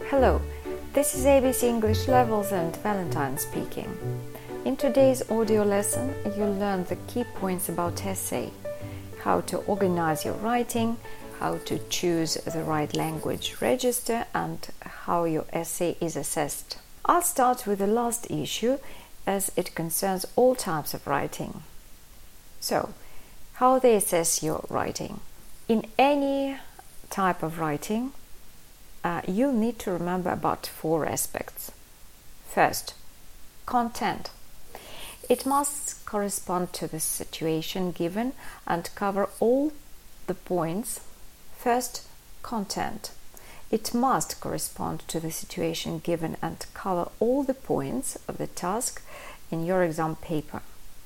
Hello, this is ABC English Levels and Valentine speaking. In today's audio lesson, you'll learn the key points about essay, how to organize your writing, how to choose the right language register, and how your essay is assessed. I'll start with the last issue as it concerns all types of writing. So, how they assess your writing. In any type of writing, you'll need to remember about 4 aspects. First, content. It must correspond to the situation given and cover all the points. First, content. It must correspond to the situation given and cover all the points of the task in your exam paper.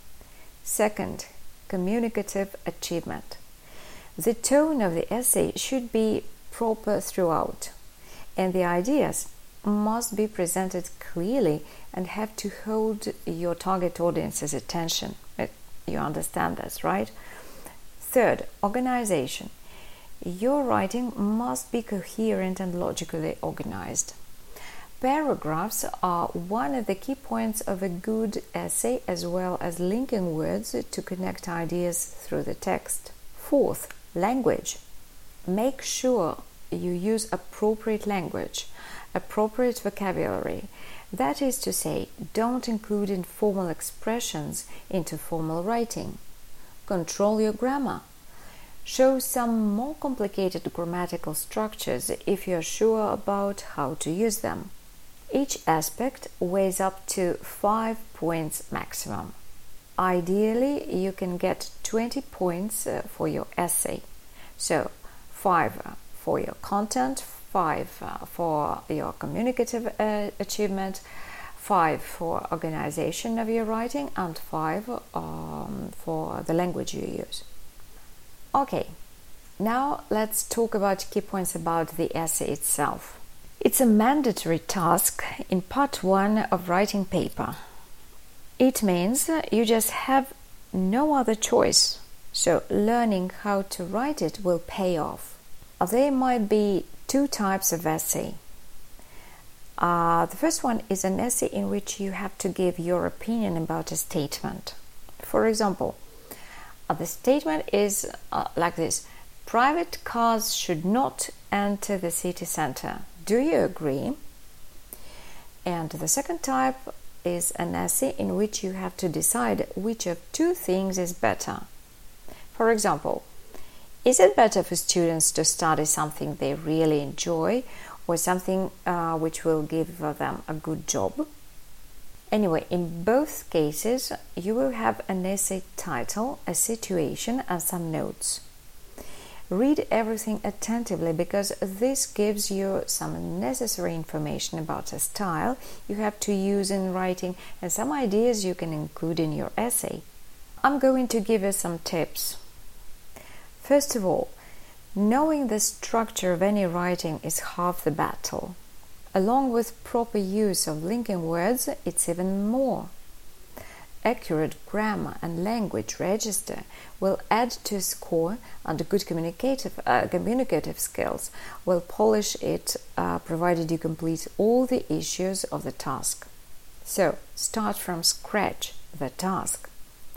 Second, communicative achievement. The tone of the essay should be proper throughout, and the ideas must be presented clearly and have to hold your target audience's attention. You understand this, right? Third, organization. Your writing must be coherent and logically organized. Paragraphs are one of the key points of a good essay, as well as linking words to connect ideas through the text. Fourth, language. Make sure you use appropriate language, appropriate vocabulary. That is to say, don't include informal expressions into formal writing. Control your grammar. Show some more complicated grammatical structures if you're sure about how to use them. Each aspect weighs up to 5 points maximum. Ideally, you can get 20 points for your essay. So, 5 for your content, 5 for your communicative achievement, 5 for organization of your writing, and 5 for the language you use. Okay, now let's talk about key points about the essay itself. It's a mandatory task in part 1 of writing paper. It means you just have no other choice, so learning how to write it will pay off. There might be 2 types of essay. The first one is an essay in which you have to give your opinion about a statement. For example, the statement is like this: private cars should not enter the city center. Do you agree? And the second type is an essay in which you have to decide which of 2 things is better. For example, is it better for students to study something they really enjoy or something which will give them a good job? Anyway, in both cases, you will have an essay title, a situation, and some notes. Read everything attentively because this gives you some necessary information about a style you have to use in writing and some ideas you can include in your essay. I'm going to give you some tips. First of all, knowing the structure of any writing is half the battle. Along with proper use of linking words, it's even more. Accurate grammar and language register will add to a score, and good communicative skills will polish it, provided you complete all the issues of the task. So, start from scratch the task.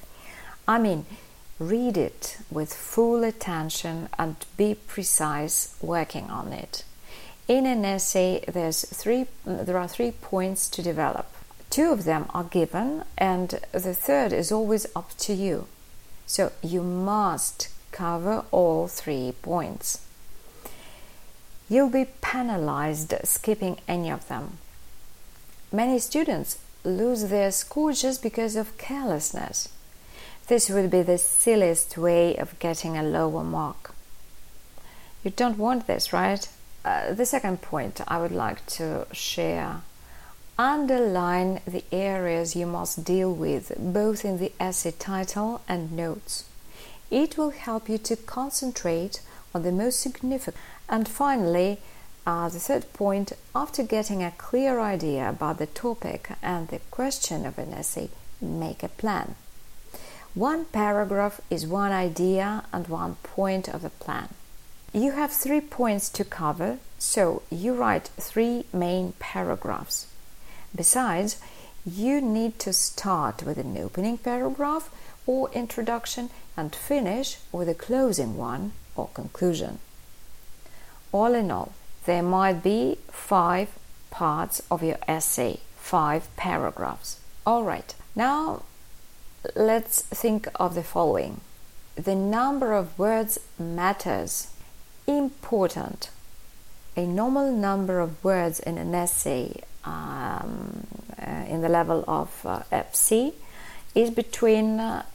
Read it with full attention and be precise working on it. In an essay, there are 3 points to develop. 2 of them are given, and the third is always up to you. So you must cover all 3 points. You'll be penalized skipping any of them. Many students lose their score just because of carelessness. This would be the silliest way of getting a lower mark. You don't want this, right? The second point I would like to share: underline the areas you must deal with, both in the essay title and notes. It will help you to concentrate on the most significant. And finally, the third point: after getting a clear idea about the topic and the question of an essay, make a plan. 1 paragraph is 1 idea and 1 point of the plan. You have 3 points to cover, so you write 3 main paragraphs. Besides, you need to start with an opening paragraph or introduction and finish with a closing one or conclusion. All in all, there might be 5 parts of your essay, 5 paragraphs. All right, now let's think of the following. The number of words matters. Important. A normal number of words in an essay in the level of FC is between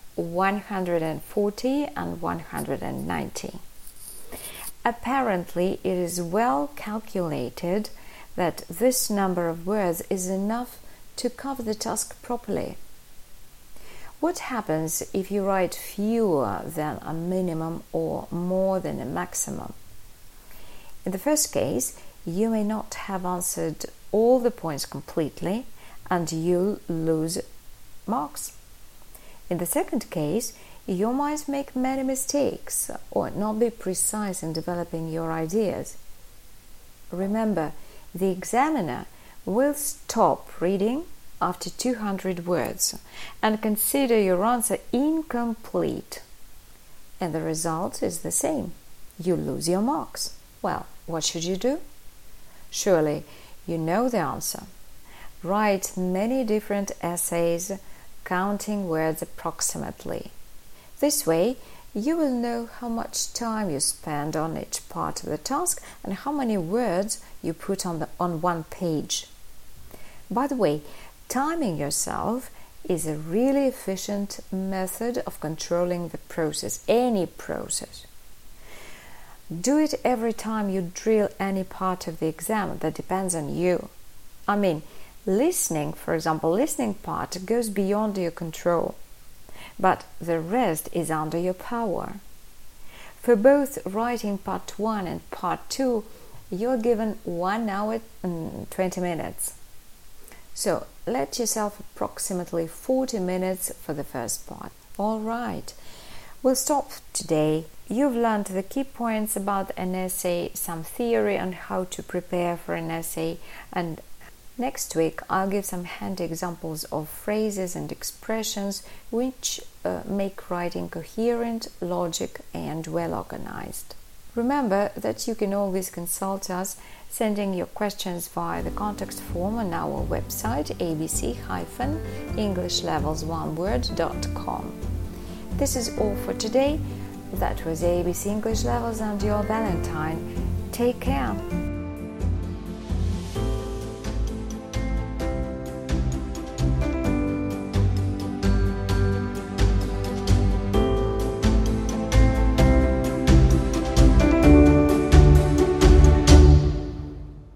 140 and 190. Apparently, it is well calculated that this number of words is enough to cover the task properly. What happens if you write fewer than a minimum or more than a maximum? In the first case, you may not have answered all the points completely and you'll lose marks. In the second case, you might make many mistakes or not be precise in developing your ideas. Remember, the examiner will stop reading after 200 words and consider your answer incomplete. And the result is the same. You lose your marks. Well, what should you do? Surely you know the answer. Write many different essays, counting words approximately. This way, you will know how much time you spend on each part of the task and how many words you put on one page. By the way, timing yourself is a really efficient method of controlling the process, any process. Do it every time you drill any part of the exam. That depends on you. I mean, listening, for example, listening part goes beyond your control, but the rest is under your power. For both writing part 1 and part 2, you're given 1 hour and 20 minutes. So let yourself approximately 40 minutes for the first part. All right, we'll stop today. You've learned the key points about an essay, some theory on how to prepare for an essay, and next week I'll give some handy examples of phrases and expressions which make writing coherent, logic, and well organized. Remember that you can always consult us sending your questions via the contact form on our website abc-englishlevels1word.com. This is all for today. That was ABC English Levels and your Valentine. Take care.